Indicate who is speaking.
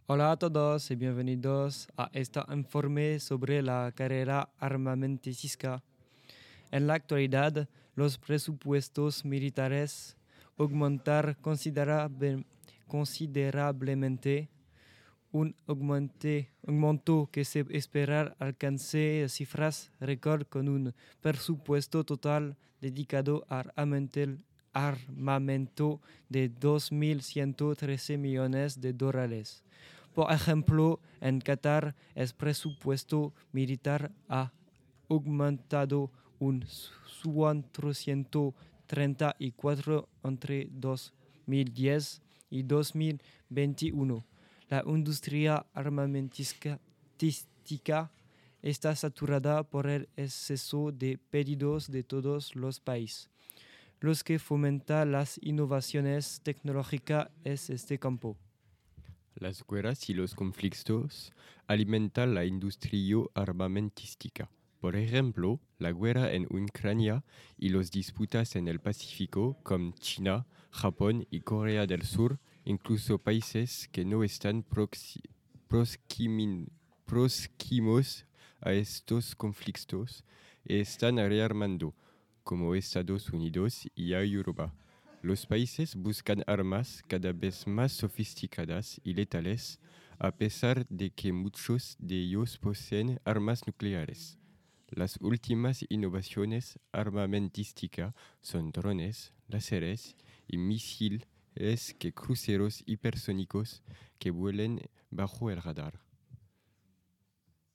Speaker 1: Hola a todos y bienvenidos a este informe sobre la carrera armamentística. En la actualidad, los presupuestos militares aumentan considerablemente, un aumento que se espera alcance cifras récord con un presupuesto total dedicado al armamento de 2.113 millones de dólares. Por ejemplo, en Qatar el presupuesto militar ha aumentado un 434 entre 2010 y 2021. La industria armamentística está saturada por el exceso de pedidos de todos los países, los que fomentan las innovaciones tecnológicas en este campo.
Speaker 2: Las guerras y los conflictos alimentan la industria armamentística. Por ejemplo, la guerra en Ucrania y las disputas en el Pacífico, como China, Japón y Corea del Sur, incluso países que no están próximos a estos conflictos, están rearmando, como Estados Unidos y Europa. Los países buscan armas cada vez más sofisticadas y letales, a pesar de que muchos de ellos poseen armas nucleares. Las últimas innovaciones armamentísticas son drones, láseres y misiles que cruceros hipersónicos que vuelan bajo el radar.